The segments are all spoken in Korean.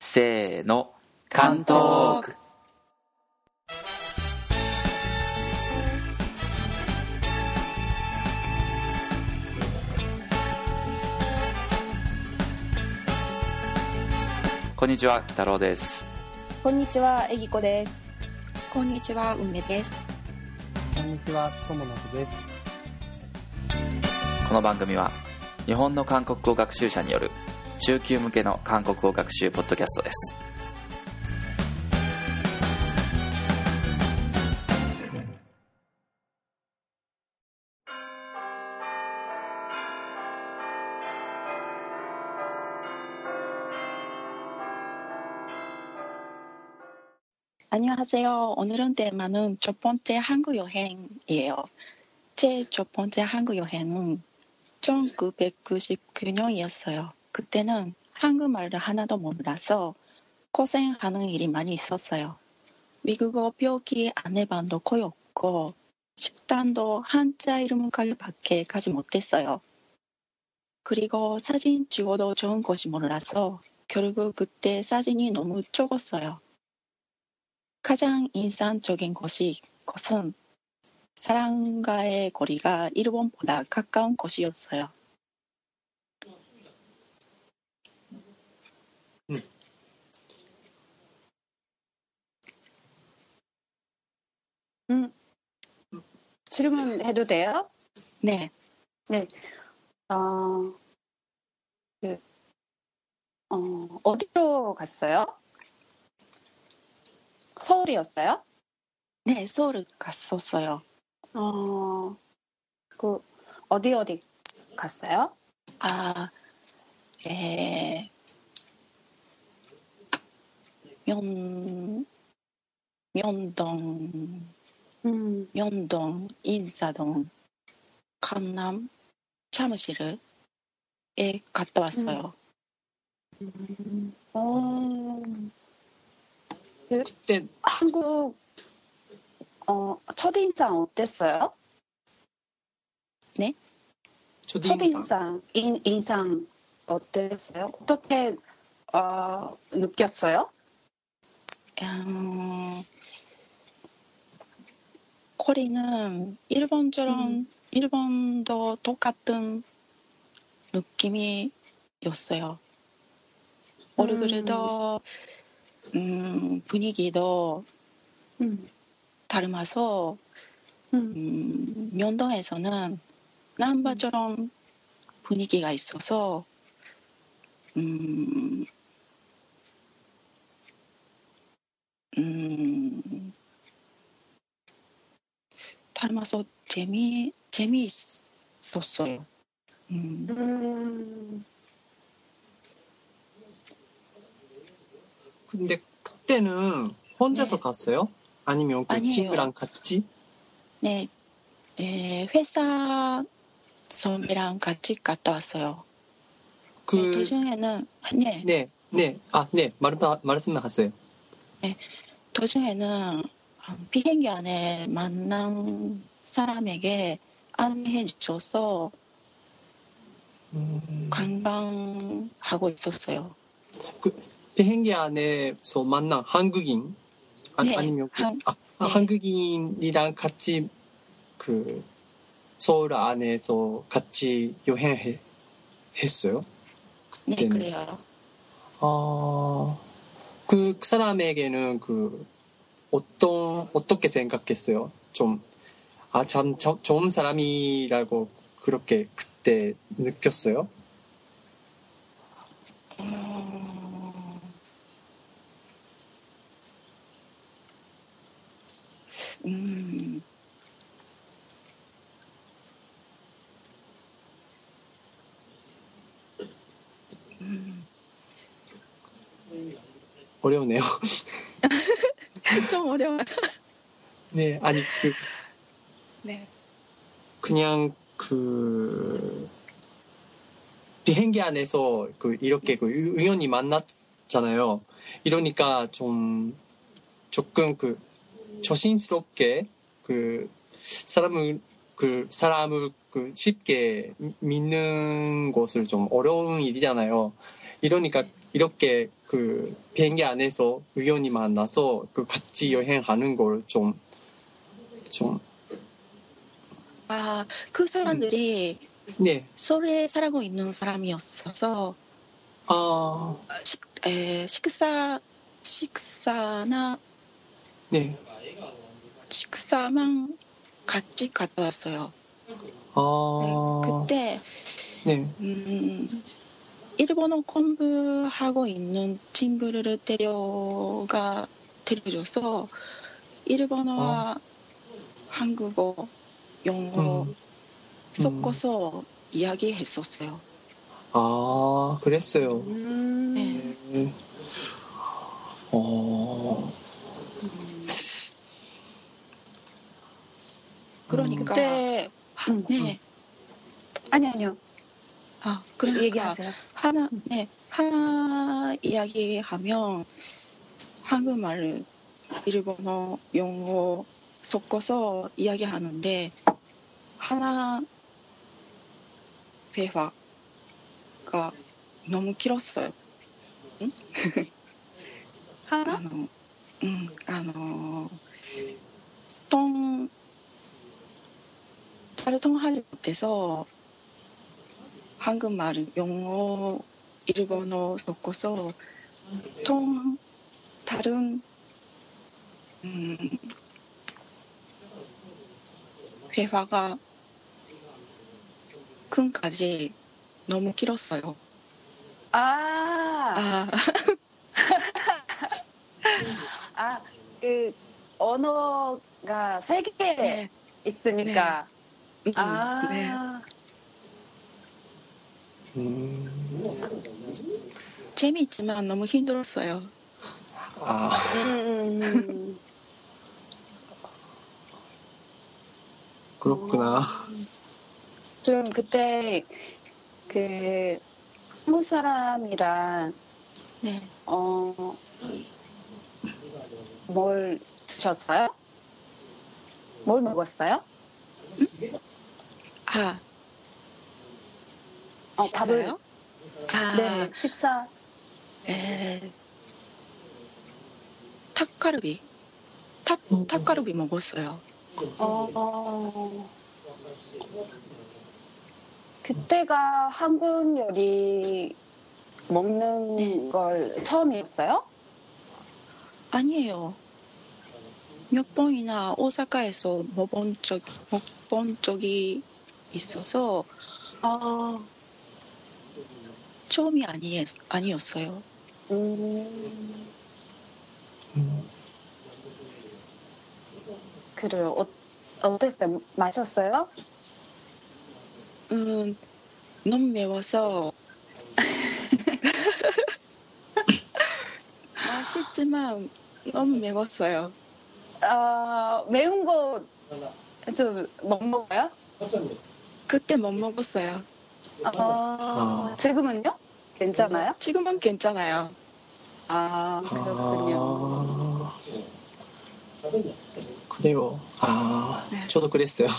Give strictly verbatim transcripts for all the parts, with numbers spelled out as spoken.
せーの、関東区。こんにちは、太郎です。 こんにちは、えぎこです。 こんにちは、梅です。 こんにちは、ともなくです。 この番組は日本の韓国語学習者による中級向けの韓国語学習ポッドキャストです。 안녕하세요. 오늘은 테마는 첫 번째 한국 여행이에요. 제 첫 번째 한국 여행은 천구백구십구 년이었어요. 그때는 한국말을 하나도 몰라서 고생하는 일이 많이 있었어요. 미국어 표기 안내반도 거의 없고 식당도 한자 이름까지밖에 가지 못했어요. 그리고 사진 찍어도 좋은 곳이 몰라서 결국 그때 사진이 너무 적었어요. 가장 인상적인 것이, 것은 사람과의 거리가 일본보다 가까운 곳이었어요. 음. 음, 질문해도 돼요? 네. 네. 어, 그, 어, 어디로 갔어요? 서울이었어요? 네, 서울 갔었어요. 어, 그, 어디 어디 갔어요? 아, 에, 면, 면동, 음, 면동, 인사동, 강남, 사무실에 갔다 왔어요. 음, 어, 그, 그때 한국, 어, 첫인상 어땠어요? 네? 초딩 첫인상, 인, 인상 어땠어요? 어떻게, 어, 느꼈어요? 음, 거리는 일본처럼, 음. 일본도 똑같은 느낌이었어요. 얼굴도, 음, 분위기도 음, 닮아서, 음, 음, 명동에서는 남바처럼 분위기가 있어서, 음, 음, 닮아서 재미, 재미있었어요. 음, 음, 근데 그때는 혼자서 네. 갔어요? 아니면 그 아니에요. 친구랑 같이? 네, 에, 회사 선배랑 같이 갔다 왔어요. 그 네, 도중에는, 네, 네, 네, 아, 네, 말, 말씀하세요. 도중에는 비행기 안에 만난 사람에게 안내해 주셔서 음, 관광하고 있었어요. 그 비행기 안에서 만난 한국인? 아, 네, 아니면 그, 한- 아, 아, 네. 한국인이랑 같이 그 서울 안에서 같이 여행을 했어요? 네, 그때는. 그래요. 아, 그 사람에게는 그 어떤 어떻게 생각했어요? 좀 아, 참 저, 좋은 사람이라고 그렇게 그때 느꼈어요? 음, 음, 어려우네요. 좀 어려워요. 네, 아니 그 네, 그냥 그 비행기 안에서 그 이렇게 그 우- 우연히 만났잖아요. 이러니까 좀 조금 그 조심스럽게 그 사람을 그 사람을 그 쉽게 믿는 것을 좀 어려운 일이잖아요. 이러니까 이렇게 그 비행기 안에서 우연히 만나서 그 같이 여행하는 걸 좀 좀 아, 그 사람들이 네. 서울에 살고 있는 사람이었어서 아, 식, 에, 식사 식사나 네. 식사만 같이 갔다 왔어요. 아, 네, 그때 네. 음, 일본어 공부하고 있는 친구를 데려가 데려줘서 일본어와 한국어, 영어 음, 섞어서 이야기했었어요. 아, 그랬어요. 음. 네. 네. 어, 그러니까 그때 음. 네. 아니 아니요. 아, 그러니까 얘기하세요. 하나 네 하나 이야기하면 한국말, 일본어, 영어 섞어서 이야기하는데 하나 대화가 너무 길었어요. 응? 하나? あの、うん、あの、통 다른 통하지 못해서 한국말, 영어, 일본어 섞어서 통 다른 음, 회화가 큰까지 너무 길었어요. 아, 아, 아, 그 언어가 세 개 네, 있으니까. 음, 아, 네. 음, 재미있지만 너무 힘들었어요. 아, 음, 그렇구나. 그럼 그때 그 한국 사람이랑 네. 어, 뭘 드셨어요? 뭘 먹었어요? 아, 어, 식사요? 아, 네, 식사. 에, 닭갈비. 닭, 닭갈비 먹었어요. 어, 어, 그때가 한국 요리 먹는 네. 걸 처음이었어요? 아니에요. 몇 번이나 오사카에서 먹어본 적, 먹본 적이 있어서 아, 처음이 아니, 아니었어요. 음, 음, 그래요. 어, 어땠어요? 맛있었어요? 음, 너무 매워서 맛있지만 너무 매웠어요. 아, 매운 거 좀 못 먹어요? 그때 못 먹었어요. 아, 아. 지금은요? 괜찮아요? 지금은 괜찮아요. 아, 그렇군요. 아, 그래요. 아, 네. 저도 그랬어요.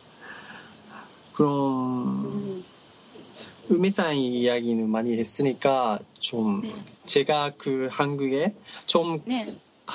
그럼 음, 음해상 이야기는 많이 했으니까 좀 네. 제가 그 한국에 좀 네.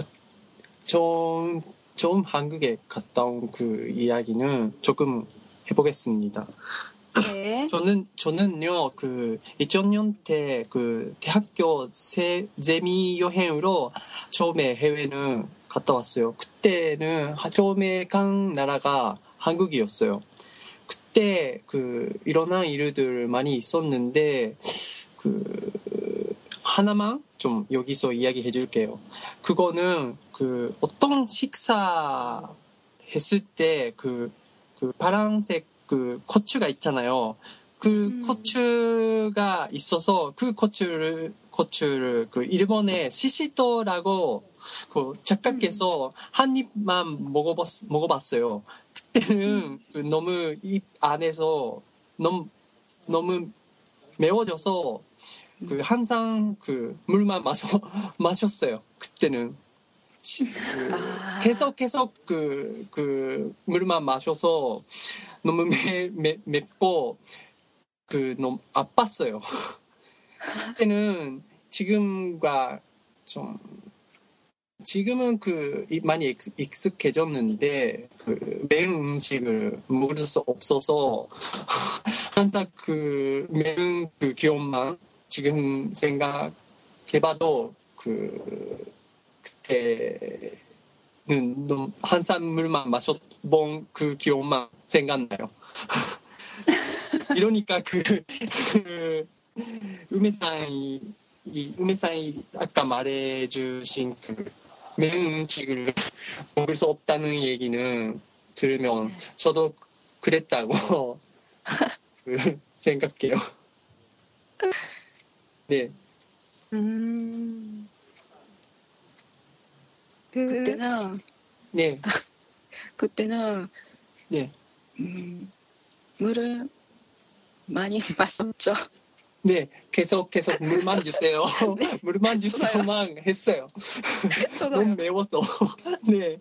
좀, 좀 한국에 갔다 온 그 이야기는 조금 해보겠습니다. 네. 저는, 저는요, 그, 이천 년 때 그 대학교 세, 재미 여행으로 처음에 해외는 갔다 왔어요. 그때는 처음에 간 나라가 한국이었어요. 그때 그, 일어난 일들 많이 있었는데, 그, 하나만 좀 여기서 이야기해 줄게요. 그거는 그 어떤 식사 했을 때 그, 그 파란색 그 고추가 있잖아요. 그 음. 고추가 있어서 그 고추를, 고추를 그 일본의 시시토라고 그 착각해서 한 입만 먹어봤, 먹어봤어요. 그때는 그 너무 입 안에서 너무, 너무 매워져서 그 항상 그 물만 마셔 마셨어요. 그때는 시- 그 아. 계속 계속 그, 그 물만 마셔서 너무 매, 매, 맵고 그 너무 아팠어요. 그때는 지금과 좀 지금은 그 많이 익, 익숙해졌는데 그 매운 음식을 먹을 수 없어서 항상 그 매운 그 기억만 지금 생각해봐도 그 그때는 너무 한산물만 마셔본 그 기억만 생각나요. 이러니까 그, 그 우메상이 이 우메상이 아까 말해주신 그 매운 음식을 먹을 수 없다는 얘기는 들으면 저도 그랬다고 그 생각해요. 네. 음. 그, 그때는 네. 그때는 네. 음, 물을 많이 마셨죠. 네. 계속 계속 물만 주세요. 네. 물만 주세요만 했어요. 너무 저도요. 매워서. 네.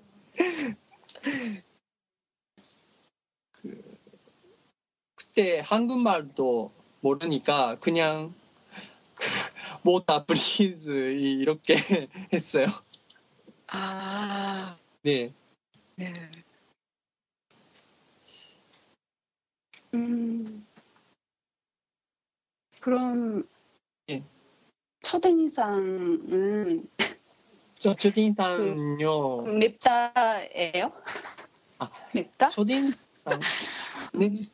그, 그때 한국말도 모르니까 그냥 모다 브리즈 이렇게 했어요. 아, 네. 네. 음, 그럼 예. 첫인상은 저 첫인상요. 맵다예요? 아, 맵다? 첫인상. 네.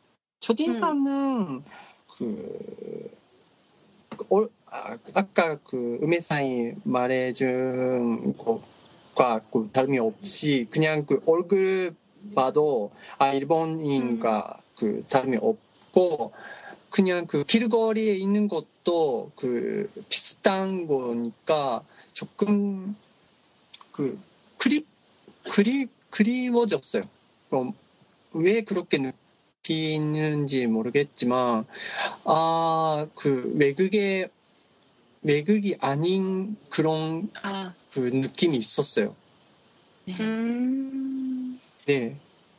첫인상은 그 어, 아, 아까 그 음해상이 말해준 것과 그 다름이 없이 그냥 그 얼굴 봐도 아 일본인과 그 다름이 없고 그냥 그 길거리에 있는 것도 그 비슷한 거니까 조금 그 그리 그리 그리워졌어요. 그럼 왜 그렇게 느끼는지 모르겠지만 아 그 외국의 외국이 아닌 그런 아, 그 느낌이 있었어요. 네. 음. 네,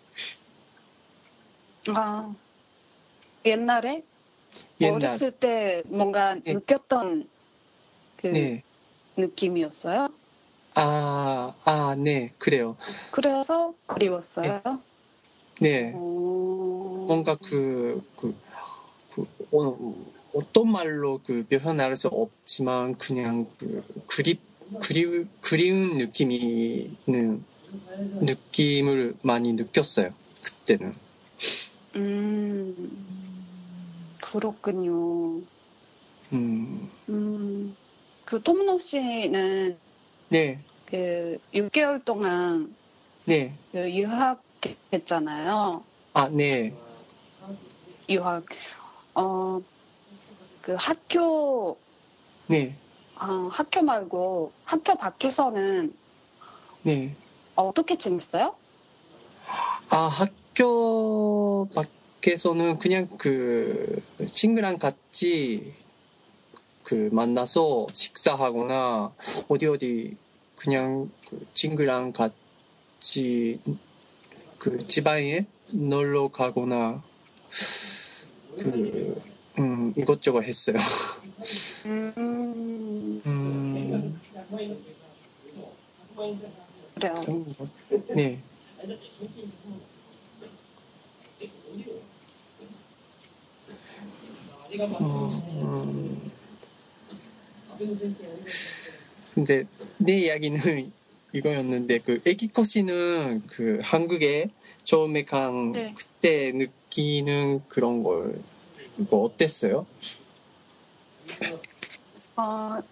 아, 옛날에 옛날. 어렸을 때 뭔가 네. 느꼈던 그 네, 느낌이었어요? 아, 아, 네, 그래요. 그래서 그리웠어요? 네, 오. 뭔가 그, 그, 그 어, 어떤 말로 그 표현할 수 없지만 그냥 그 그리 그리 그리운 느낌이는 느낌을 많이 느꼈어요. 그때는. 음, 그렇군요. 음, 음, 그 토모노 씨는 네, 그 육 개월 동안 네, 그 유학했잖아요. 아, 네, 유학. 어, 그 학교, 네, 어, 학교 말고 학교 밖에서는 네. 어떻게 지냈어요? 아, 학교 밖에서는 그냥 그 친구랑 같이 그 만나서 식사하거나 어디 어디 그냥 그 친구랑 같이 그 지방에 놀러 가거나 그 음, 이것저것 했어요. 음, 음, 그래요. 그런 거. 네. 어, 음, 근데 내 이야기는 이거였는데 그 에기코 씨는 그 한국에 처음에 간 네. 그때 느끼는 그런 걸 이거 어땠어요? 어,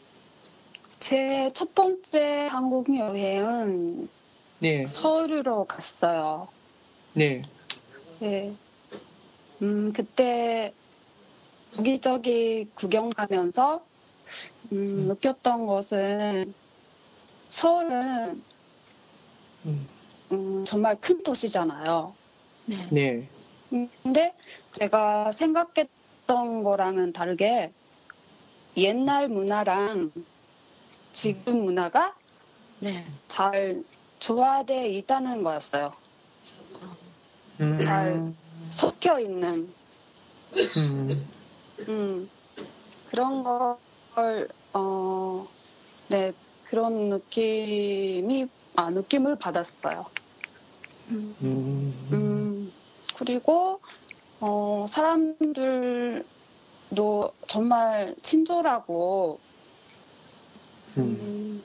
제 첫 번째 한국 여행은 네, 서울으로 갔어요. 네, 네. 음, 그때 여기저기 구경 가면서 음, 느꼈던 것은 서울은 음, 음, 정말 큰 도시잖아요. 네. 네, 근데 제가 생각했던 거랑은 다르게 옛날 문화랑 지금 문화가 네. 잘 조화되어 있다는 거였어요. 음, 잘 섞여 있는 음, 음, 그런 걸, 어, 네, 그런 느낌이, 아, 느낌을 받았어요. 음, 음, 음, 그리고, 어, 사람들도 정말 친절하고, 음, 음,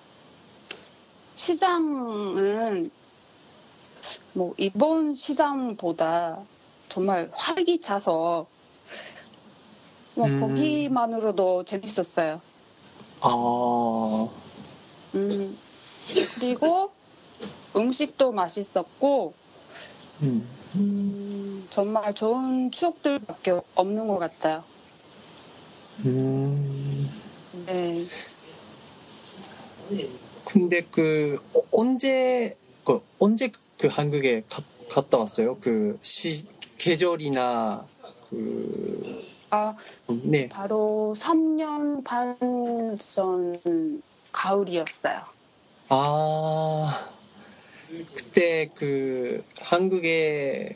시장은 뭐, 일본 시장보다 정말 활기차서, 뭐, 음. 보기만으로도 재밌었어요. 아, 음, 그리고 음식도 맛있었고, 음, 음, 정말 좋은 추억들밖에 없는 것 같아요. 음. 네. 근데 그 어, 언제 그 언제 그 한국에 가, 갔다 왔어요? 그 시 계절이나 그 아, 네. 바로 삼 년 반 전 가을이었어요. 아, 그때 그 한국에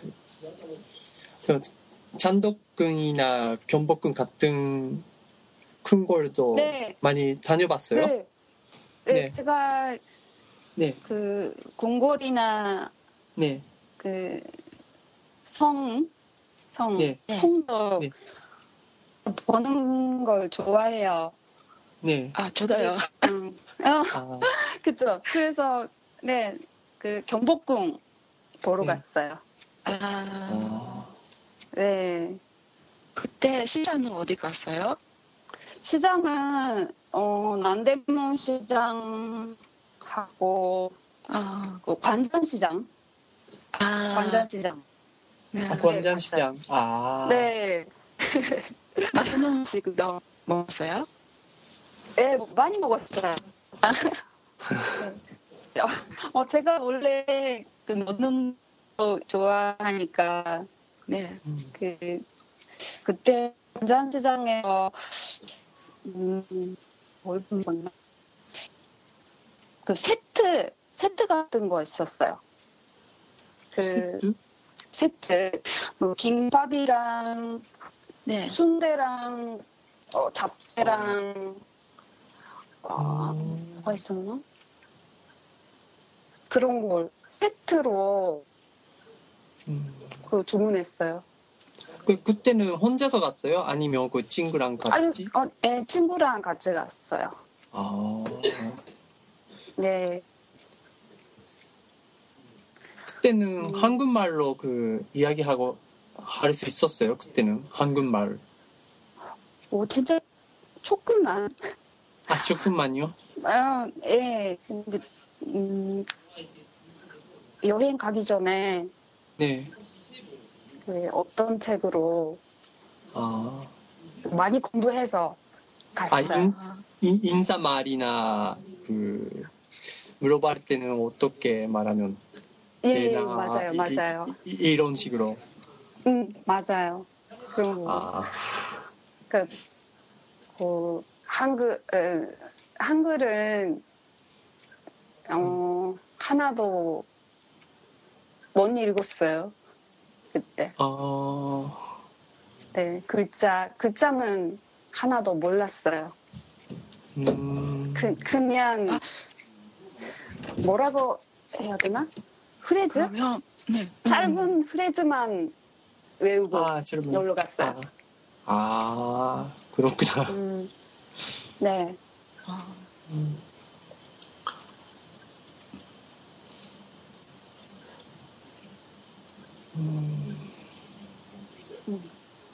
그 잔독근이나 경복궁 같은 큰 걸도 네, 많이 다녀봤어요? 네, 네, 네. 제가 네, 그 궁궐이나 네, 그 성, 성, 네, 네. 성도 네. 보는 걸 좋아해요. 네. 아, 저도요. 음, 어, 아, 그쵸. 그래서, 네, 그 경복궁 보러 네. 갔어요. 아, 아, 네. 그때 시장은 어디 갔어요? 시장은, 어, 남대문 시장하고, 아, 그 관전시장, 아, 관전시장. 네. 아, 네, 관장시장. 아, 네. 맛있는 음식도 먹었어요? 네, 많이 먹었어요. 네. 어, 제가 원래 그 먹는 거 좋아하니까, 네. 음, 그, 그때 관전시장에서, 음, 뭘 먹나? 그 세트, 세트 같은 거 있었어요. 그 세트? 세트, 뭐 김밥이랑 네. 순대랑 어, 잡채랑 어, 음, 뭐가 있었나? 그런 걸 세트로 음. 그 주문했어요. 그, 그때는 혼자서 갔어요? 아니면 그 친구랑 아니, 같이? 어, 예, 친구랑 같이 갔어요. 아, 네, 그때는 음, 한국말로 그 이야기하고 할 수 있었어요? 그때는 한국말. 뭐 진짜 조금만. 아, 조금만요? 아, 예, 근데 음, 여행 가기 전에 네. 그 어떤 책으로 아, 많이 공부해서 아, 갔어요. 인, 아, 인, 인사말이나 그 물어볼 때는 어떻게 말하면 예, 예, 되나 맞아요, 이, 이, 맞아요. 이- 이런 식으로. 응, 맞아요. 그런 거. 아, 그, 그, 한글, 에, 한글은, 어, 하나도 못 읽었어요. 그때. 아, 네, 글자, 글자는 하나도 몰랐어요. 음, 그, 그냥, 아. 뭐라고 해야 되나? 프레즈? 그러면, 네. 짧은 프레즈만 외우고 아, 젊은. 놀러 갔어요. 아, 아, 그렇구나. 음, 네. 아, 음. 음, 음.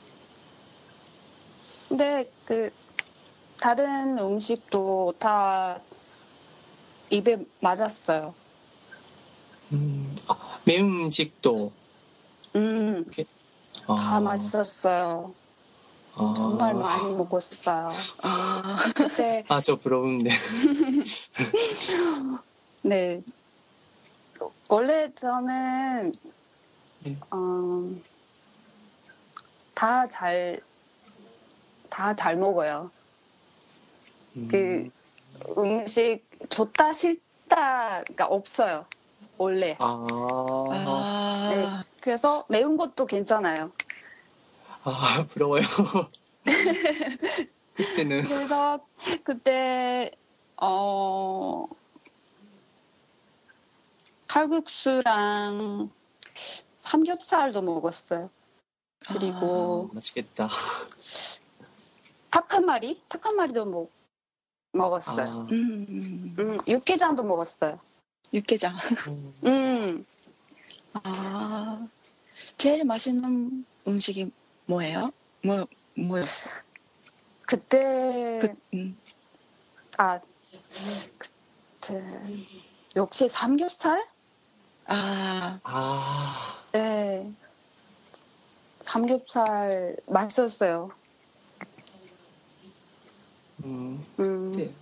근데 그, 다른 음식도 다 입에 맞았어요. 음. 아, 매운 음식도. 음, 아, 다 맛있었어요. 아, 정말 많이 먹었어요. 아, 그때, 아, 저 부러운데. 네. 원래 저는, 네. 어, 다 잘, 다 잘 먹어요. 그 음, 음식 좋다, 싫다가 없어요. 원래. 아, 네. 아, 그래서 매운 것도 괜찮아요. 아, 부러워요. 그때는 그래서 그때 어 칼국수랑 삼겹살도 먹었어요. 그리고 아, 맛있겠다. 닭 한 마리? 닭 한 마리도 먹, 먹었어요. 아, 음, 음, 육개장도 먹었어요. 육개장. 음, 음, 아, 제일 맛있는 음식이 뭐예요? 뭐, 뭐였어? 그때 그, 음, 아 그때 역시 삼겹살? 아, 아, 네, 삼겹살 맛있었어요. 음, 음, 네.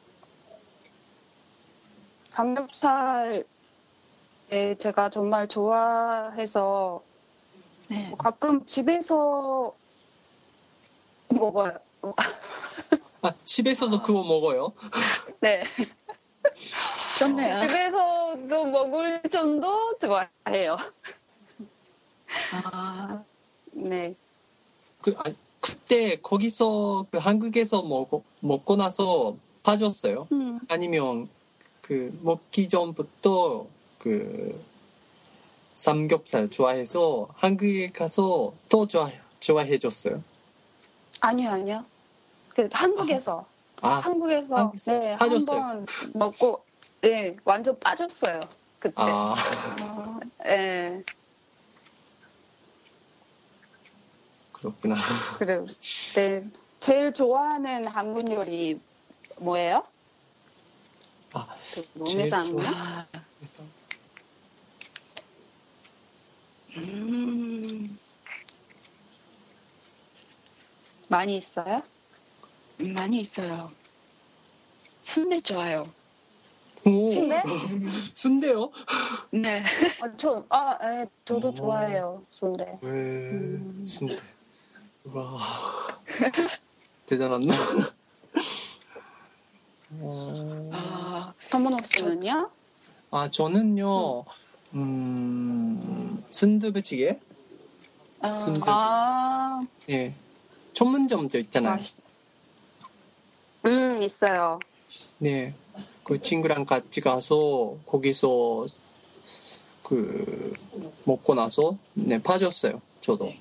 삼겹살에 제가 정말 좋아해서 네. 가끔 집에서 먹어요. 아, 집에서도 그거 먹어요? 네, 좋네요. 집에서도 먹을 정도 좋아해요. 아, 네, 그, 아, 그때 거기서 그 한국에서 먹, 먹고 나서 빠졌어요? 음, 아니면 그 먹기 전부터 그 삼겹살 좋아해서 한국에 가서 또 좋아, 좋아해졌어요? 아니요, 아니요. 그 한국에서 아, 한국에서 한국에서 네, 빠졌어요? 한번 먹고 네, 완전 빠졌어요. 그때. 아, 어, 네, 그렇구나. 그리고 네, 제일 좋아하는 한국 요리 뭐예요? 아, 그 제일 몸에상요? 아, 좋아해서. 음, 많이 있어요? 많이 있어요. 순대 좋아요. 오, 순대? 순대요? 네. 아, 저, 아, 예, 저도 오. 좋아해요, 순대. 왜, 음. 순대. 와, 대단하다. 어, 아, 터무노 씨는요? 아, 저는요, 음, 순두부찌개? 아, 순두부. 아, 예. 전문점도 있잖아요. 맛있, 음, 있어요. 네. 그 친구랑 같이 가서 거기서 그 먹고 나서 네, 빠졌어요. 저도.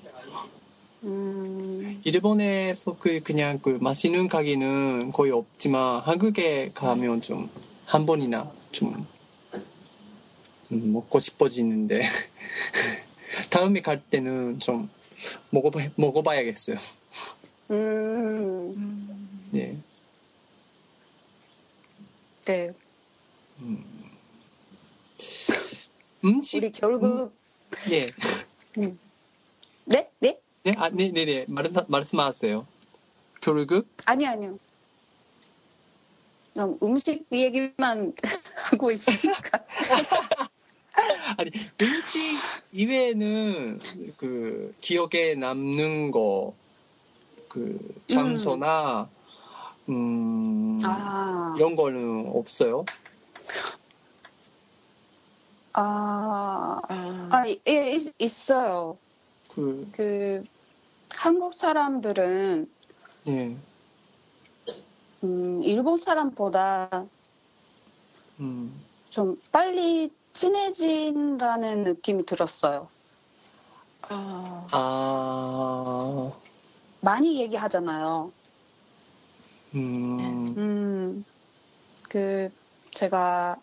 음, 일본에서 그 그냥 그 맛있는 가게는 거의 없지만 한국에 가면 좀 한 번이나 좀 음, 먹고 싶어지는데 다음에 갈 때는 좀 먹어봐, 먹어봐야겠어요. 음, 음, 네. 네. 음식 우리 결국, 음, 예. 음. 네? 네? 네, 아, 네, 네, 네. 말, 말씀하세요. 결국 아니, 아니요. 그럼 음식 얘기만 하고 있으니까. 아니 음식 이외에는 그 기억에 남는 거 그 장소나 음, 아, 이런 거는 없어요? 아, 아, 아, 예, 있, 있어요. 그 그, 한국 사람들은, 예. 음, 일본 사람보다 음. 좀 빨리 친해진다는 느낌이 들었어요. 아, 아. 많이 얘기하잖아요. 음. 음, 그, 제가,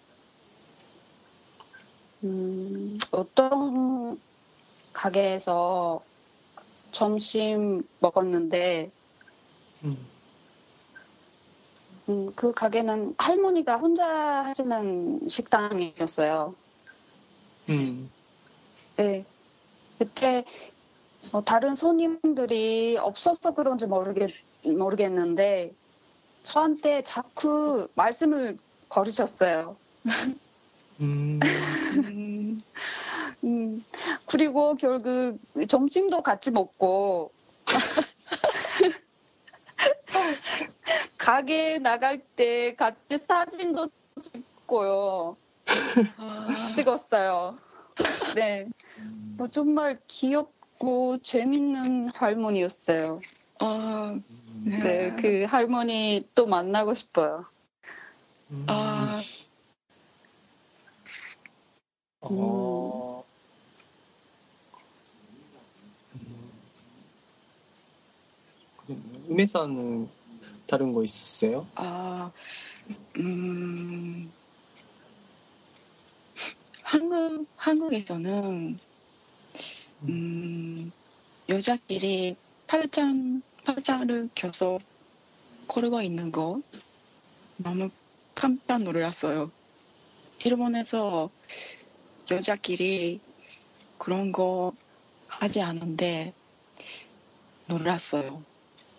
음, 어떤 가게에서 점심 먹었는데, 음. 음, 그 가게는 할머니가 혼자 하시는 식당이었어요. 음. 네. 그때 어, 다른 손님들이 없어서 그런지 모르겠, 모르겠는데, 저한테 자꾸 말씀을 걸으셨어요. 음. 음, 음, 그리고 결국 점심도 같이 먹고, 가게 나갈 때 같이 사진도 찍고요. 아, 찍었어요. 네. 뭐 정말 귀엽고 재밌는 할머니였어요. 아, 네. 네, 그 할머니 또 만나고 싶어요. 음. 아, 어. 음. 우메さん은 다른 거 있었어요? 아, 음, 한국, 한국에서는, 음, 여자끼리 팔짱, 팔짱을 껴서 걸고 있는 거 너무 깜짝 놀랐어요. 일본에서 여자끼리 그런 거 하지 않은데 놀랐어요.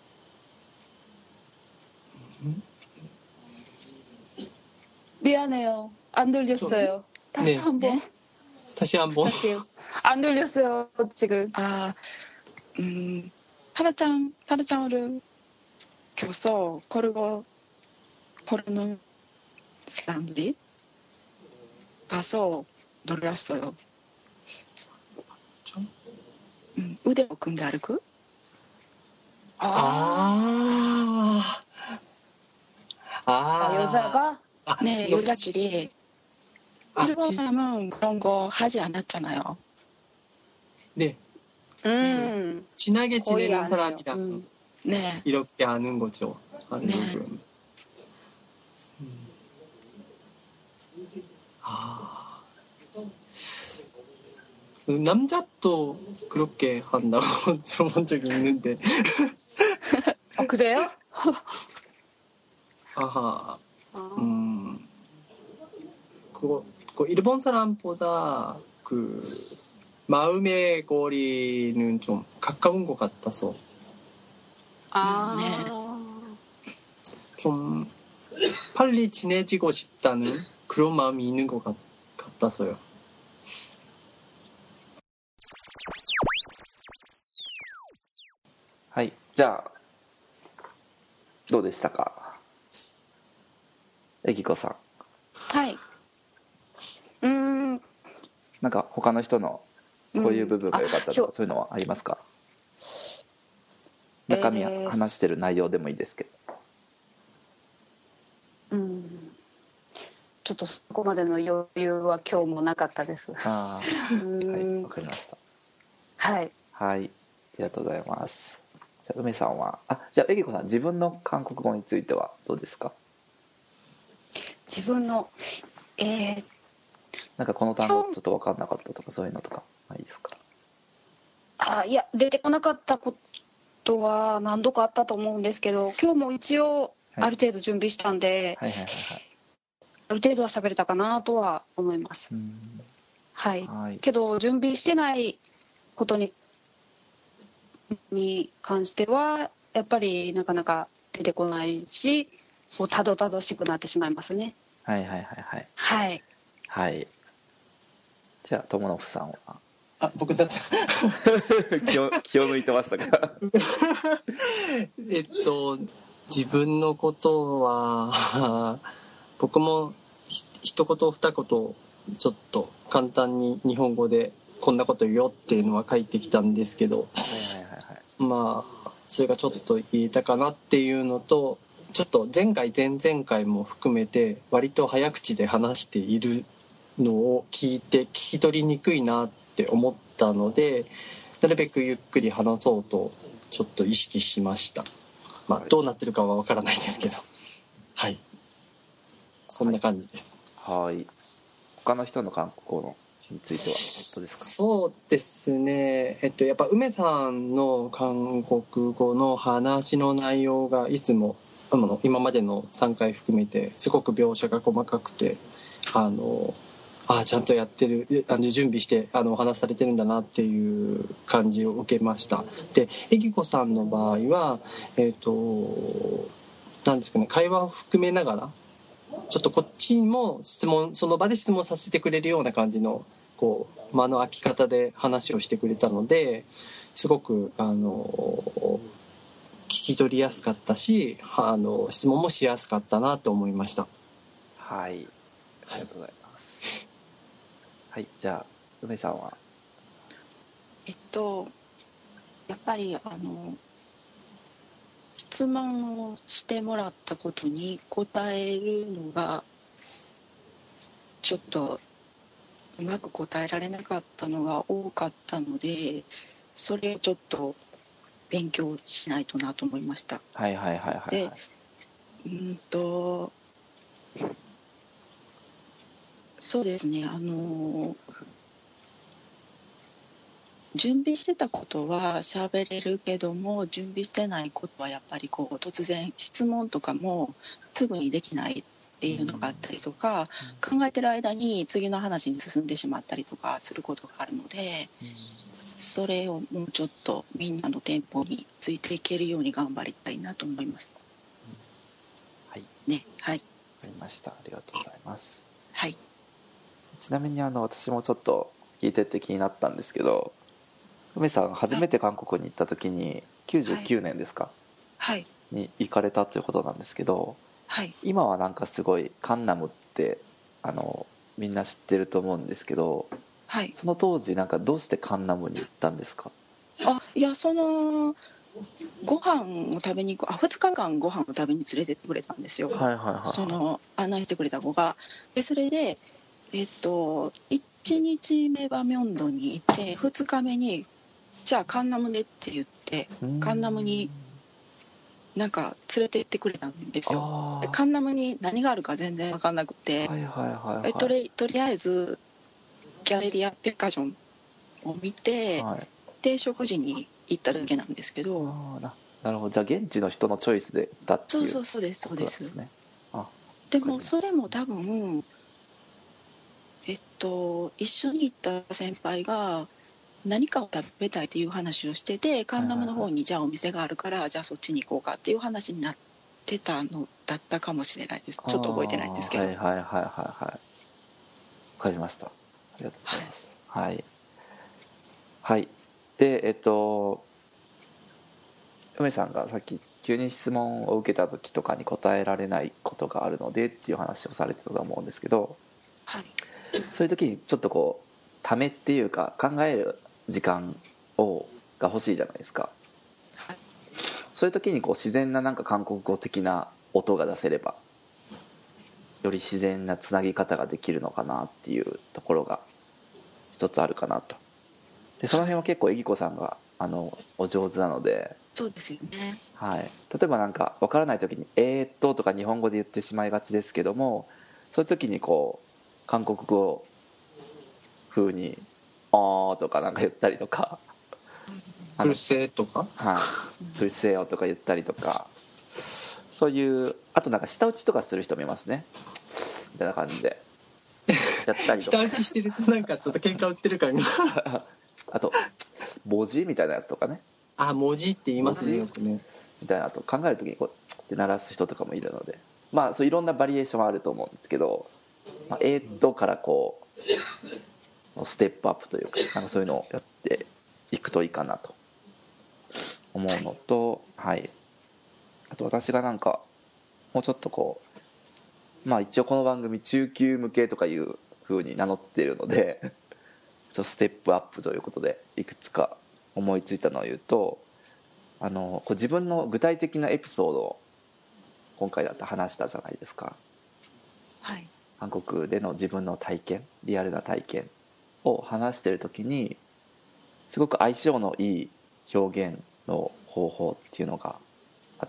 미안해요. 안 들렸어요. 다시 네. 한번 네? 다시 한번. 할게요. 안 들렸어요, 지금. 아, 음, 팔짱, 팔짱을 껴서 걸고, 걸는 사람들이 봐서 놀랐어요. 음, 우대 꺾은데 알고? 아. 아. 아, 여자가? 아, 네, 너- 여자끼리. 아, 일본 지- 사람은 그런 거 하지 않았잖아요. 네. 음, 친하게 거의 지내는 안 해요. 사람이랑 음. 네, 이렇게 아는 거죠. 한국은. 네. 음. 아. 남자도 그렇게 한다고 들어본 적이 있는데. 아, 그래요? 아하. 아, 음. 그거, 그 일본 사람보다 그 마음의 거리는 좀 가까운 것 같아서 아, 좀 빨리 친해지고 싶다는 그런 마음이 있는 것 같, 같아서요. はい。じゃあ、どうでしたか、えきこさん。 はい。うーん、 なんか他の人のこういう部分が良かったとか、 うんあそういうのはありますか？中身はえー話してる内容でもいいですけど。 うん。ちょっとそこまでの余裕は今日もなかったです。 あうあ、はい、 ーんわかりました。 はい。 はい、ありがとうございます。じゃあ梅さんは、あ、じゃあえきこさん、自分の韓国語についてはどうですか？ 自分の、えー、 なんかこの単語ちょっと分かんなかったとかそういうのとかないですか？ あ、いや、出てこなかったことは何度かあったと思うんですけど、今日も一応はいある程度準備したんで、 はいはいはいはい。 ある程度は喋れたかなとは思います。 うーん、 はい。 はい。 けど準備してないことにに関してはやっぱりなかなか出てこないし、こうたどたどしくなってしまいますね。 はいはいはいはい。 はい。 はい。じゃあ友野さんはあ、僕だった気を気を抜いてましたか？ えっと自分のことは僕もひ一言二言ちょっと簡単に日本語でこんなこと言うよっていうのは書いてきたんですけど、 はいはいはいはい。 まあそれがちょっと言えたかなっていうのと、ちょっと前回前々回も含めて割と早口で話しているのを聞いて聞き取りにくいなって思ったので、なるべくゆっくり話そうとちょっと意識しました。まあどうなってるかはわからないですけど、はい、そんな感じです。 はい。他の人の韓国語のについてはどうですか？ そうですね、えっとやっぱ梅さんの韓国語の話の内容がいつもあの今までのさんかい含めてすごく描写が細かくて、あのあちゃんとやってる、あの準備してあのお話されてるんだなっていう感じを受けました。でえきこさんの場合はえっとなんですかね、会話を含めながらちょっとこっちにも質問、その場で質問させてくれるような感じのこう間の空き方で話をしてくれたので、すごくあの聞き取りやすかったし、あの質問もしやすかったなと思いました。 はい、ありがとうございます。はい、じゃあ梅さんは。 えっと、やっぱりあの質問をしてもらったことに答えるのがちょっとうまく答えられなかったのが多かったので、それをちょっと勉強しないとなと思いました。 はいはいはいはい、はい、 でうんとそうですね、あの準備してたことは喋れるけども、準備してないことはやっぱりこう突然質問とかもすぐにできないっていうのがあったりとか、うん、考えてる間に次の話に進んでしまったりとかすることがあるので、うん、それをもうちょっとみんなのテンポについていけるように頑張りたいなと思います、 うん、はいね、はい、 わかりました。ありがとうございます。 はい。 ちなみにあの私もちょっと聞いてて気になったんですけど、梅さん初めて韓国に行った時にきゅうじゅうきゅうねんですか、 はい、 に行かれたということなんですけど、 はい、 今はなんかすごいカンナムってあのみんな知ってると思うんですけど、 はい、 その当時なんかどうしてカンナムに行ったんですか？ あ、いや、そのご飯を食べに行くあふつかかんご飯を食べに連れてってくれたんですよ、 はいはいはい、 その案内してくれた子が。でそれでえっといちにちめはミョンドンに行ってふつかめにじゃあカンナムでって言ってカンナムになんか連れて行ってくれたんですよ。でカンナムに何があるか全然分かんなくて、 はいはいはいはい、 えとりとりあえずギャレリア・ペッカジョンを見て、はい、で食事に行っただけなんですけど。 あななるほど。じゃあ現地の人のチョイスで行ったっていう、 そうそうそうですそうです。 ね、あでもそれも多分えっと一緒に行った先輩が何かを食べたいという話をしてて、カンナムの方にじゃあお店があるからじゃあそっちに行こうかっていう話になってたのだったかもしれないです。ちょっと覚えてないんですけど。 はいはいはいはいはい、わかりました。ありがとうございます。はいはい、はい、でえっと梅さんがさっき急に質問を受けた時とかに答えられないことがあるのでっていう話をされてたと思うんですけど、 はい、 そういう時にちょっとこうためっていうか考える時間をが欲しいじゃないですか、はい、そういう時にこう自然ななんか韓国語的な音が出せればより自然なつなぎ方ができるのかなっていうところが一つあるかなと。でその辺は結構えぎこさんがあのお上手なので。 そうですよね、 はい、例えばなんか分からない時に「えーっと」とか日本語で言ってしまいがちですけども、そういう時にこう韓国語風に「あー」とかなんか言ったりとか 「プルセ」とか 「はい、プルセよ」とか言ったりとか、そういう、あとなんか舌打ちとかする人もいますねみたいな感じでやったりとか舌打ちしてるとなんかちょっと喧嘩売ってるからあと「文字」みたいなやつとかね、 あ、文字って言いますねよくねみたいなと考える時にこうって鳴らす人とかもいるので、まあそういろんなバリエーションはあると思うんですけど、まあ、えーっとからこうステップアップというか、なんかそういうのをやっていくといいかなと思うのと、はい、あと私がなんかもうちょっとこう、まあ一応この番組中級向けとかいう風に名乗っているのでちょっとステップアップということでいくつか思いついたのを言うと、あのこう自分の具体的なエピソードを今回だって話したじゃないですか、 はい、 韓国での自分の体験、リアルな体験を話してる時にすごく相性のいい表現の方法っていうのがあって、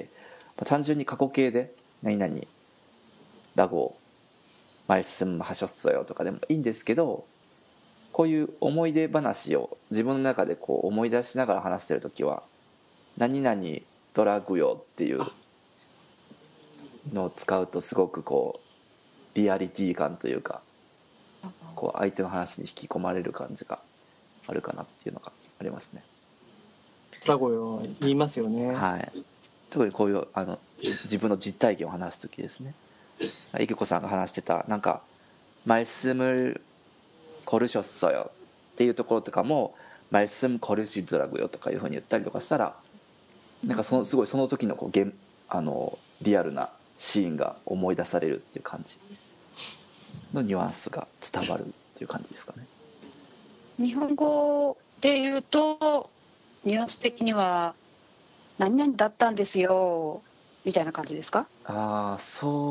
まあ、単純に過去形で何々ラゴマイスンハショッソよとかでもいいんですけど、こういう思い出話を自分の中でこう思い出しながら話してる時は何々ドラグよっていうのを使うとすごくこうリアリティ感というか、こう相手の話に引き込まれる感じがあるかなっていうのがありますね。 ドラゴよ言いますよね。 はい。特にこういうあの自分の実体験を話す時ですね。いけこさんが話してたなんか말씀을 걸으셨어요っていうところとかも말씀 걸으시더라고요とかいうふうに言ったりとかしたら、なんかそのすごいその時のこう現あのリアルなシーンが思い出されるっていう感じのニュアンスが伝わるっていう感じですかね。 日本語で言うとニュアンス的には何々だったんですよみたいな感じですか？ ああ、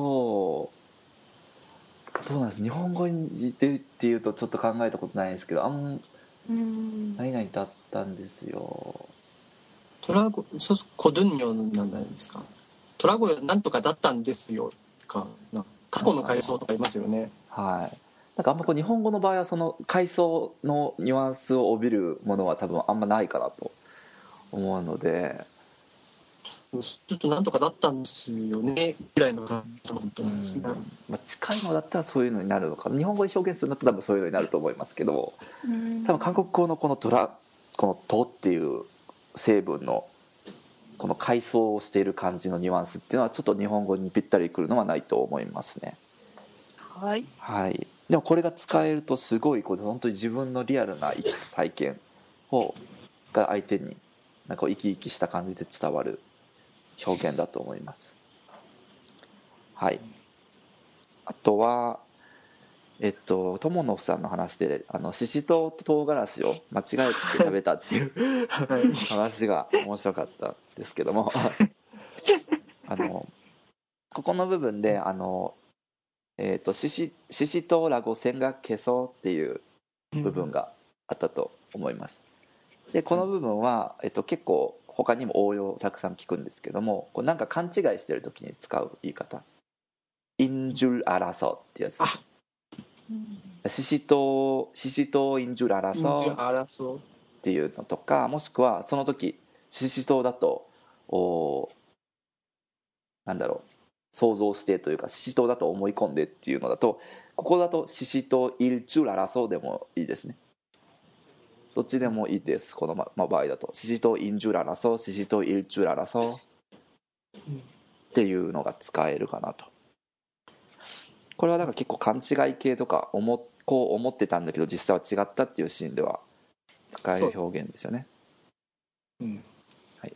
そうどうなんです、日本語にでっていうとちょっと考えたことないんですけど、あんうーん。 何々だったんですよ。 トラゴそう、コドゥンニョなんじゃないですか。トラゴなんとかだったんですよかな、過去の回想とかありますよね。 はい。なんかあんまこう日本語の場合はその階層のニュアンスを帯びるものは多分あんまないかなと思うので、 ちょっとなんとかだったんですよねぐらいの感じだとう思うんですね。 ん、まあ、近いのだったらそういうのになるのか、日本語で表現するんだったら多分そういうのになると思いますけど、 うーん多分韓国語のこのドラこの「と」っていう成分のこの階層をしている感じのニュアンスっていうのはちょっと日本語にぴったりくるのはないと思いますね。 はい。 はい、でもこれが使えるとすごいこう本当に自分のリアルな生きた体験をが相手になんかこう生き生きした感じで伝わる表現だと思います。はい。あとはえっと友野さんの話であのししとうと唐辛子を間違えて食べたっていう話が面白かったんですけどもあのここの部分であのえっとししししとうラゴ線が消そうっていう部分があったと思います。でこの部分は、えっと、結構他にも応用たくさん聞くんですけども、こうなんか勘違いしてる時に使う言い方、インジュルアラソっていうやつです。ししとうししとうインジュルアラソっていうのとか、もしくはその時ししとうだとおなんだろう想像してというかししとうだと思い込んでっていうのだと、ここだとししとうイルチュララソでもいいですね。どっちでもいいです。この、まま、場合だとししとうインジュララソししとうイルチュララソっていうのが使えるかなと。これはなんか結構勘違い系とか思こう思ってたんだけど実際は違ったっていうシーンでは使える表現ですよね。 うん、 はい。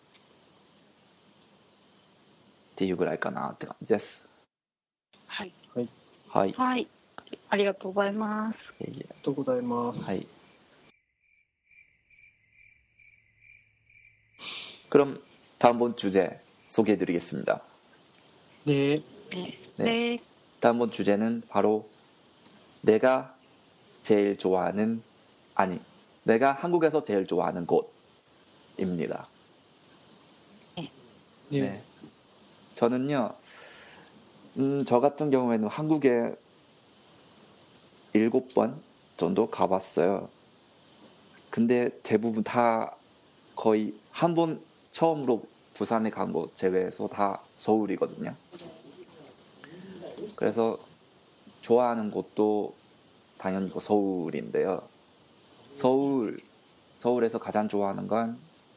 っていうぐらいかなって感じです。 はい。 はい。 はい。ありがとうございます。 いえいえ。 ありがとうございます。 はい. 그럼 다음번 주제 소개해드리겠습니다. 네. 네. 네. 네. 다음번 주제는 바로 내가 제일 좋아하는 아니 내가 한국에서 제일 좋아하는 곳입니다. 네. 네. 저는요, 음, 저 같은 경우에는 한국에 일곱 번 정도 가봤어요. 근데 대부분 다 거의 한 번 처음으로 부산에 간 거 제외해서 다 서울이거든요. 그래서 좋아하는 곳도 당연히 서울인데요. 서울, 서울에서 가장 좋아하는 건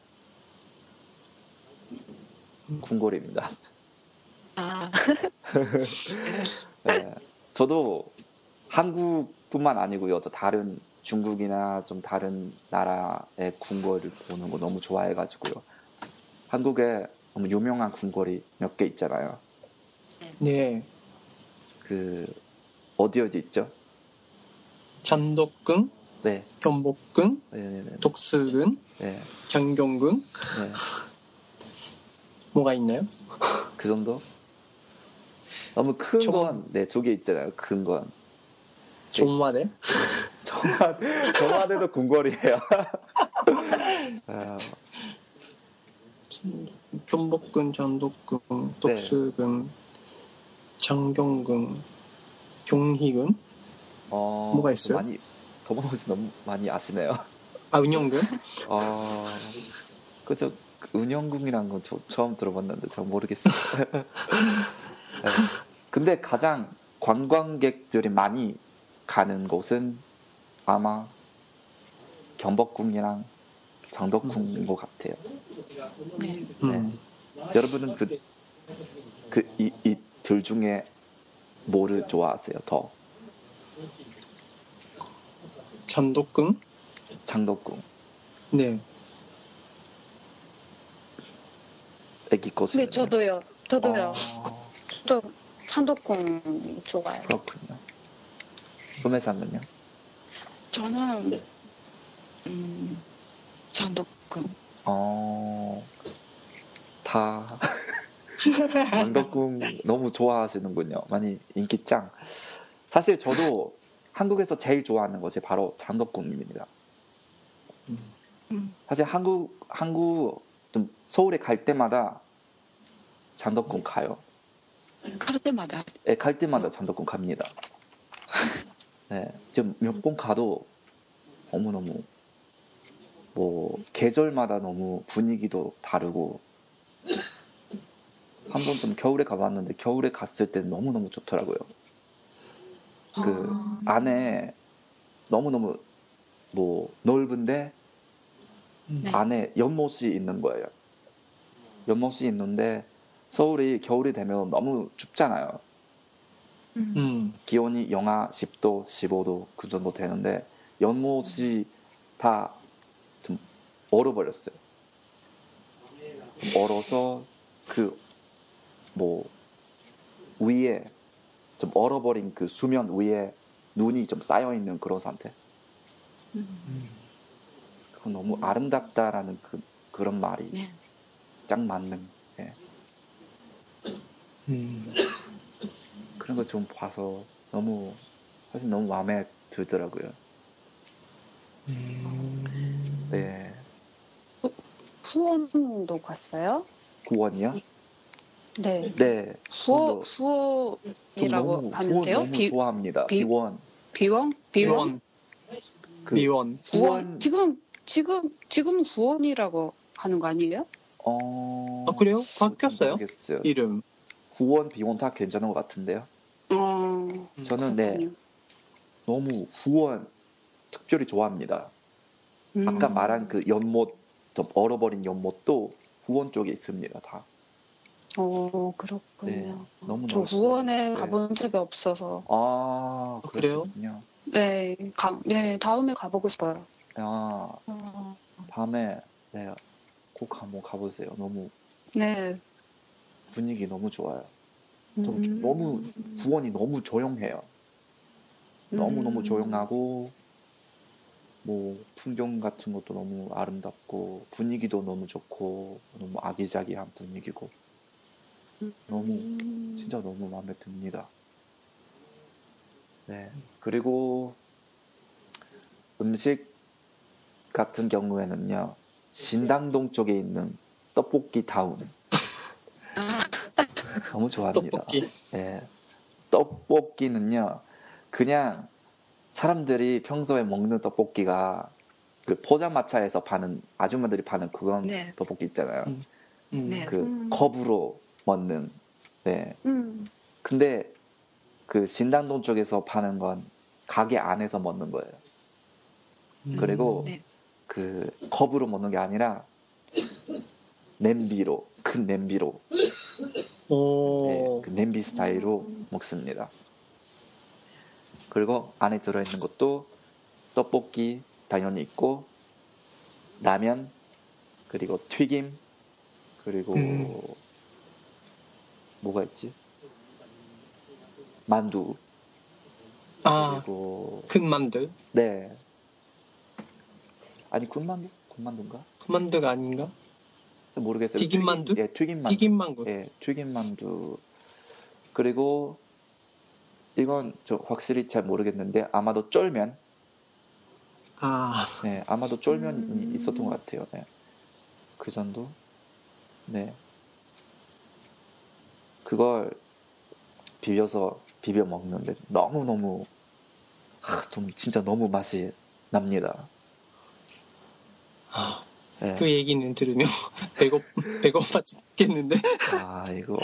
궁궐입니다. 아. 네, 저도 한국뿐만 아니고요. 저 다른 중국이나 좀 다른 나라의 궁궐을 보는 거 너무 좋아해가지고요. 한국에 너무 유명한 궁궐이 몇 개 있잖아요. 네. 그 어디 어디 있죠? 잔덕궁, 네. 경복궁, 네네네. 독수궁, 네. 장경궁. 네. 뭐가 있나요? 그 정도? 너무 큰 종- 건, 네, 두 개 있잖아요. 큰 건. 종마대. 정화, 정화대도 궁궐이에요. 아, 경복궁, 잔덕궁, 독수궁, 장경궁, 경희궁. 어, 뭐가 있어요? 많이, 더머노 씨 너무 많이 아시네요. 아, 은영궁. 아, 그저 은영궁이란 건 저, 처음 들어봤는데 잘 모르겠어요. 네. 근데 가장 관광객들이 많이 가는 곳은 아마 경복궁이랑 장덕궁인 것 같아요. 네. 음. 여러분은 그, 그, 이, 이 둘 중에 뭐를 좋아하세요? 더? 잔덕궁? 장덕궁. 네. 애기 꽃은. 네, 저도요. 저도요. 어, 또 찬덕궁 좋아요. 그렇군요. 소매상은요? 저는 음, 잔덕궁. 어, 다 장덕궁 너무 좋아하시는군요. 많이 인기 짱. 사실 저도 한국에서 제일 좋아하는 것이 바로 장덕궁입니다. 음. 사실 한국 한국 좀 서울에 갈 때마다 장덕궁 가요. 갈 때마다. 네, 갈 때마다 장덕궁 갑니다. 네, 지금 몇 번 가도 너무 너무 뭐 계절마다 너무 분위기도 다르고 한 번 좀 겨울에 가봤는데 겨울에 갔을 때 너무 너무 좋더라고요. 그 아. 안에 너무 너무 뭐 넓은데 네. 안에 연못이 있는 거예요. 연못이 있는데 서울이 겨울이 되면 너무 춥잖아요. 음. 음. 기온이 영하 십 도, 십오 도 그 정도 되는데 연못이 다 좀 얼어버렸어요. 좀 얼어서 그 뭐 위에 좀 얼어버린 그 수면 위에 눈이 좀 쌓여 있는 그런 상태. 음. 그건 너무 아름답다라는 그 그런 말이 네. 짱 맞는. 예. 음. 그런 거 좀 봐서 너무 사실 너무 마음에 들더라고요. 음. 네. 후원도 갔어요? 구원이요? 네. 네. 후원 후원도 좀 후원이라고 너무 하면 후원 돼요? 너무 비, 좋아합니다. 비- 비원. 비원? 비원? 비원. 그 비원. 후원. 후원 지금 지금 지금 후원이라고 하는 거 아니에요? 어. 아, 그래요? 바뀌었어요? 모르겠어요. 이름. 구원 비원 다 괜찮은 것 같은데요. 어. 저는 네 그렇군요. 너무 후원 특별히 좋아합니다. 음. 아까 말한 그 연못 좀 얼어버린 연못도 후원 쪽에 있습니다. 다. 어, 네. 그렇군요. 너무 저 넓고. 후원에 네. 가본 적이 없어서. 아, 아, 그래요? 그러시군요. 네, 가, 네, 다음에 가보고 싶어요. 아, 어. 다음에 네, 꼭 한번 가보세요. 너무 네. 분위기 너무 좋아요. 좀 음. 너무 후원이 너무 조용해요. 너무 너무 음. 조용하고 뭐 풍경 같은 것도 너무 아름답고 분위기도 너무 좋고 너무 아기자기한 분위기고 너무 음. 진짜 너무 마음에 듭니다. 네. 그리고 음식 같은 경우에는요. 신당동 쪽에 있는 떡볶이 타운 아. 너무 좋아합니다. 떡볶이. 네. 떡볶이는요. 그냥 사람들이 평소에 먹는 떡볶이가 그 포장마차에서 파는 아줌마들이 파는 그런 네. 떡볶이 있잖아요. 음. 음. 네. 그 음. 컵으로 먹는. 네. 음. 근데 그 신당동 쪽에서 파는 건 가게 안에서 먹는 거예요. 음. 그리고 네. 그 컵으로 먹는 게 아니라 냄비로 큰 냄비로 오. 네, 그 냄비 스타일로 먹습니다. 그리고 안에 들어있는 것도 떡볶이 당연히 있고 라면 그리고 튀김 그리고 음. 뭐가 있지? 만두 아, 그리고 큰 만두? 네 아니 군만두? 군만두인가? 큰 만두가 아닌가? 잘 모르겠어요. 튀김 만두? 예, 튀김 만두. 튀김 만두. 예, 튀김 만두. 그리고 이건 저 확실히 잘 모르겠는데 아마도 쫄면. 아, 네, 아마도 쫄면이 음. 있었던 것 같아요. 네. 그 정도. 네. 그걸 비벼서 비벼 먹는데 너무 너무 좀 진짜 너무 맛이 납니다. 네. 그 얘기는 들으면 배고 배고파 죽겠는데. 아 이거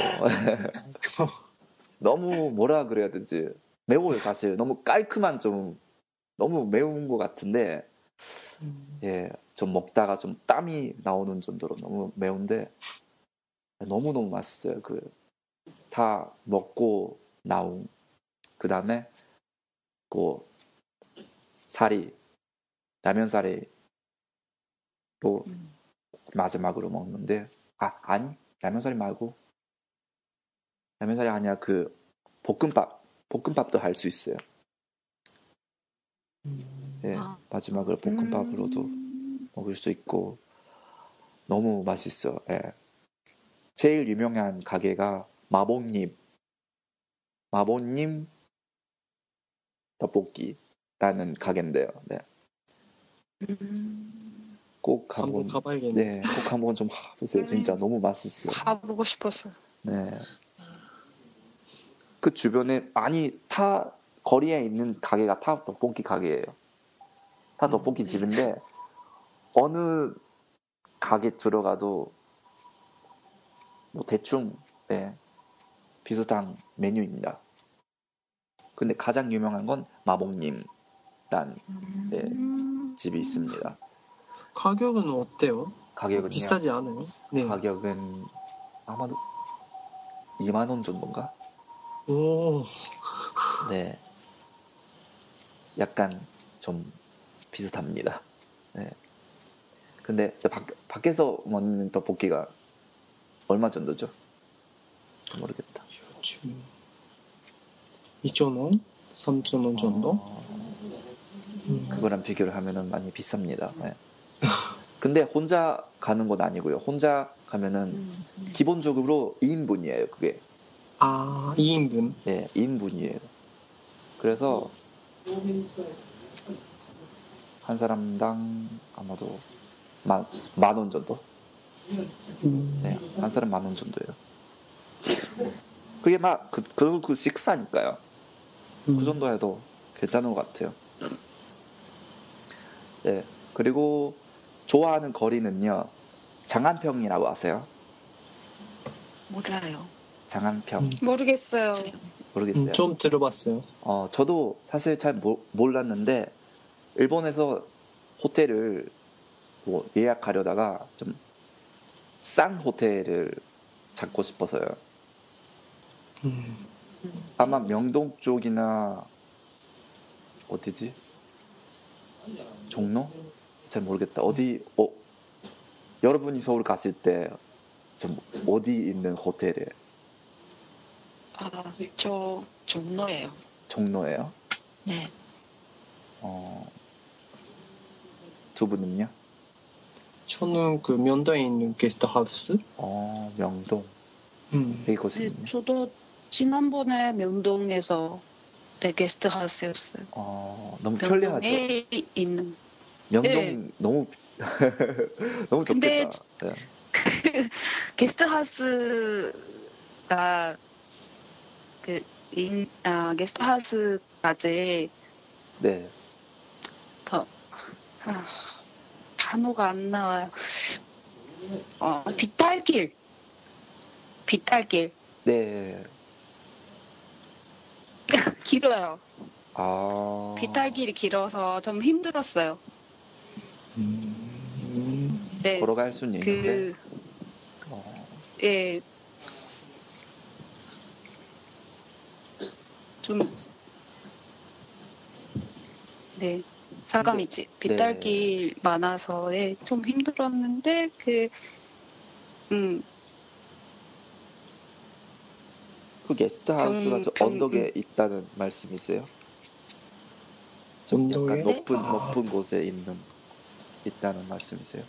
너무 뭐라 그래야 되지? 매워요 사실. 너무 깔끔한 좀 너무 매운 것 같은데 예, 좀 먹다가 좀 땀이 나오는 정도로 너무 매운데 너무 너무 맛있어요. 그 다 먹고 나온 그 다음에 그 사리 라면 사리로 음. 마지막으로 먹는데 아 아니 라면 사리 말고 라면 사리 아니야 그 볶음밥 볶음밥도 할 수 있어요. 예, 아. 마지막으로 볶음밥으로도 음. 먹을 수 있고 너무 맛있어. 예. 제일 유명한 가게가 마봉님 마봉님 떡볶이라는 가게인데요. 네. 음, 꼭 한번 한번 가봐야겠네. 네, 꼭 한번 좀 가보세요. 진짜 너무 맛있어요. 가보고 싶었어요. 네. 그 주변에 아니 타 거리에 있는 가게가 다 떡볶이 가게예요. 다 음, 떡볶이 집인데 어느 가게 들어가도 뭐 대충 네, 비슷한 메뉴입니다. 근데 가장 유명한 건 마봉님란 네, 음, 집이 있습니다. 가격은 어때요? 가격은요? 비싸지 않아요? 네. 가격은 아마도 이만 원 정도인가? 오, 네. 약간 좀 비슷합니다. 네. 근데 밖, 밖에서 먹는 떡볶이가 얼마 정도죠? 모르겠다. 요즘 이천 원? 삼천 원 정도? 어, 음. 그거랑 비교를 하면은 많이 비쌉니다. 네. 근데 혼자 가는 건 아니고요. 혼자 가면은 음, 기본적으로 이 인분이에요. 그게. 아, 이 인분. 네, 이 인분이에요. 그래서 한 사람당 아마도 만, 만 원 정도? 음. 네, 한 사람 만 원 정도예요. 그게 막, 그, 그, 그 식사니까요. 그 음. 정도 해도 괜찮은 것 같아요. 네, 그리고 좋아하는 거리는요, 장안평이라고 아세요? 몰라요. 장안평. 음. 모르겠어요. 저요. 모르겠어요. 음, 좀 들어봤어요. 어, 저도 사실 잘 모, 몰랐는데, 일본에서 호텔을 뭐 예약하려다가 좀 싼 호텔을 찾고 싶어서요. 음. 아마 명동 쪽이나 어디지? 종로? 잘 모르겠다. 어디? 어, 여러분이 서울 갔을 때 좀 어디 있는 호텔에 아, 저 종로예요. 종로예요? 네. 어, 두 분은요? 저는 그 면도에 있는 게스트하우스? 어, 명동. 음. 네, 이곳은요? 저도 지난번에 명동에서 네, 게스트하우스였어요. 어, 너무 편리하죠. 명동에 있는. 명동 네. 너무 너무 근데 좋겠다. 네. 게스트하우스가 그 인, 아, 게스트하우스까지 네. 더 아, 단어가 안 나와요. 어, 빗달길, 빗달길 네. 길어요. 아. 빗달길이 길어서 좀 힘들었어요. 음. 네, 걸어갈 수는 있는데. 그 어, 예, 좀 네. 사가미치 빗달길 많아서 예, 좀 힘들었는데 그 음, 그 게스트하우스가 병- 저 병- 언덕에 있다는 말씀이세요? 좀 언덕에? 약간 높은 아. 높은 곳에 있는 있다는 말씀이세요?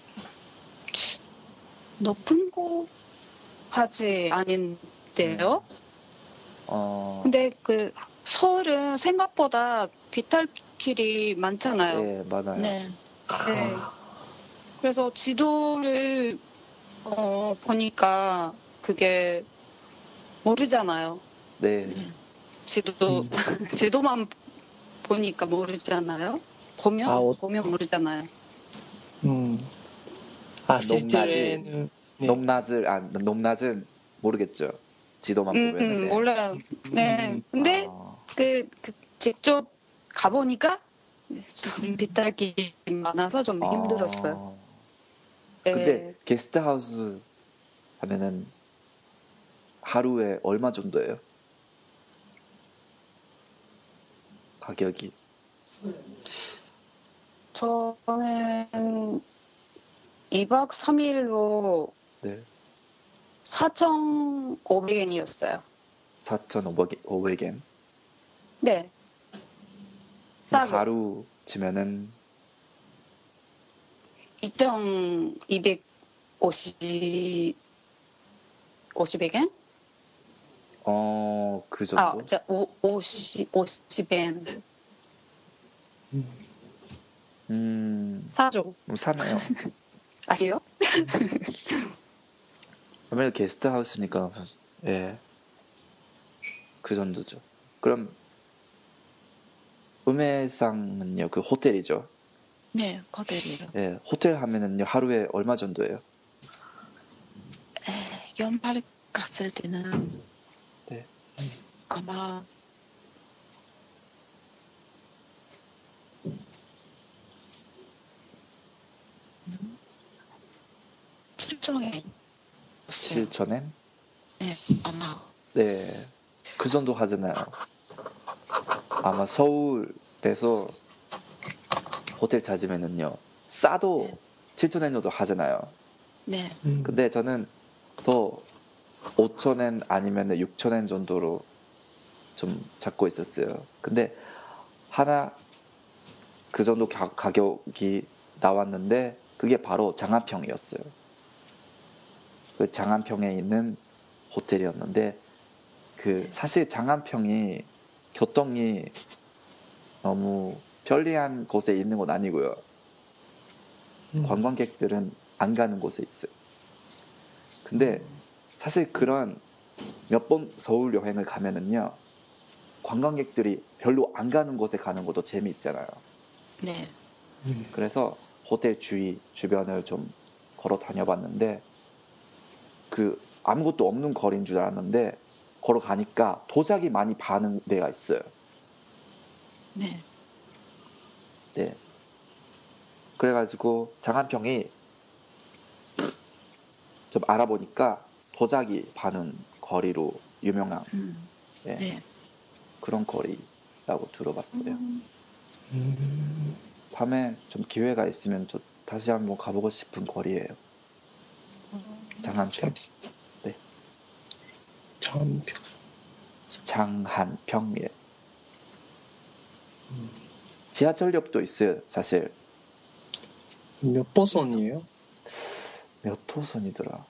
높은 곳까지 아닌데요. 어. 근데 그 서울은 생각보다 빗달길이 많잖아요. 예, 맞아요. 네. 네. 그래서 지도를 어, 보니까 그게 모르잖아요. 네. 네. 지도 음. 지도만 보니까 모르잖아요. 보면 아, 어- 보면 모르잖아요. 음. 아, 높낮이. 실제로는 네. 높낮을 아 높낮은 모르겠죠. 지도만 음, 보면은. 음, 네. 몰라요. 네. 음. 근데 아, 그, 그 직접 가보니까 좀 빗달길이 많아서 좀 힘들었어요. 아. 네. 근데 게스트하우스 하면은 하루에 얼마 정도예요? 가격이. 저는 이 박 삼 일로 네. 사천오백 엔이었어요. 사천오백 엔. 네. 싸죠. 하루 치면은 이천이백오십 오십 엔? 어, 그 아, 정도? 자, 오, 오십, 오십 엔. 음, 사죠. 음, 사네요. 아니요? 아무래도 게스트하우스니까, 예, 그 정도죠. 그럼, 우메상은요, 그 호텔이죠. 네, 호텔이요. 예, 호텔 하면은요, 하루에 얼마 정도예요? 에, 연말 갔을 때는 네. 아마 칠천 엔. 칠천 엔? 네, 아마. 네, 그 정도 하잖아요. 아마 서울에서 호텔 찾으면은요, 싸도 네. 칠천 엔 정도 하잖아요. 네, 음. 근데 저는 더 오천 엔 아니면 육천 엔 정도로 좀 잡고 있었어요. 근데 하나 그 정도 가, 가격이 나왔는데 그게 바로 장안평이었어요. 그 장안평에 있는 호텔이었는데 그 사실 장안평이 교통이 너무 편리한 곳에 있는 건 아니고요. 음. 관광객들은 안 가는 곳에 있어요. 근데 사실 그런 몇 번 서울 여행을 가면은요, 관광객들이 별로 안 가는 곳에 가는 것도 재미있잖아요. 네, 음. 그래서 호텔 주위 주변을 좀 걸어 다녀봤는데 그 아무것도 없는 거리인 줄 알았는데 걸어가니까 도자기 많이 파는 데가 있어요. 네. 네. 그래가지고 장안평이 좀 알아보니까 도자기 파는 거리로 유명한 음, 예, 네. 그런 거리라고 들어봤어요. 음, 음. 밤에 좀 기회가 있으면 저 다시 한번 가보고 싶은 거리예요. 장안평. 네. 장안평. 장한평. 예. 지하철역도 있어요. 사실 몇 호선이에요? 몇 호선이더라.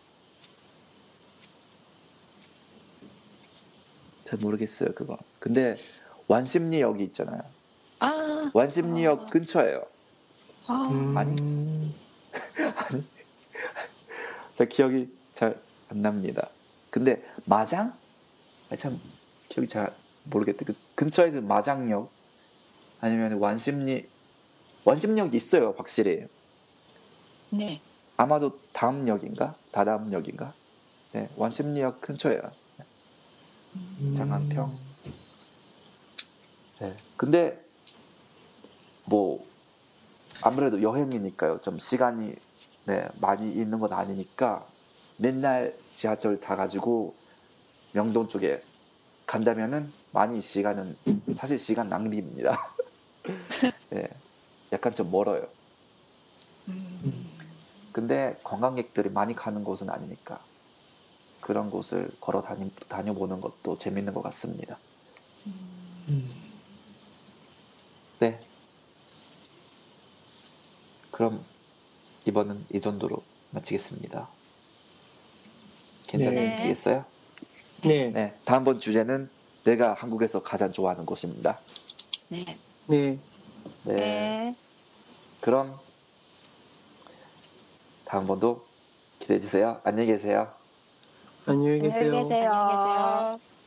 잘 모르겠어요 그거. 근데 완심리역이 있잖아요. 아, 완심리역 아. 근처예요. 아, 음. 아니? 제 기억이 잘 안 납니다. 근데 마장? 아니, 참 기억이 잘 모르겠다. 그 근처에 그 마장역 아니면 완심리 완심역이 있어요 확실히. 네. 아마도 다음 역인가? 다다음 역인가? 네, 완심리역 근처예요. 음. 장안평. 네. 근데 뭐 아무래도 여행이니까요. 좀 시간이 네, 많이 있는 건 아니니까 맨날 지하철 타가지고 명동 쪽에 간다면은 많이 시간은 사실 시간 낭비입니다. 네, 약간 좀 멀어요. 음, 근데 관광객들이 많이 가는 곳은 아니니까 그런 곳을 걸어 다니, 다녀보는 것도 재밌는 것 같습니다. 음. 네. 그럼 이번은 이 정도로 마치겠습니다. 괜찮으시겠어요? 네. 네. 다음번 주제는 내가 한국에서 가장 좋아하는 곳입니다. 네. 네. 네. 네. 그럼 다음번도 기대해 주세요. 안녕히 계세요. 안녕히 안녕히 계세요. 계세요. 안녕히 계세요.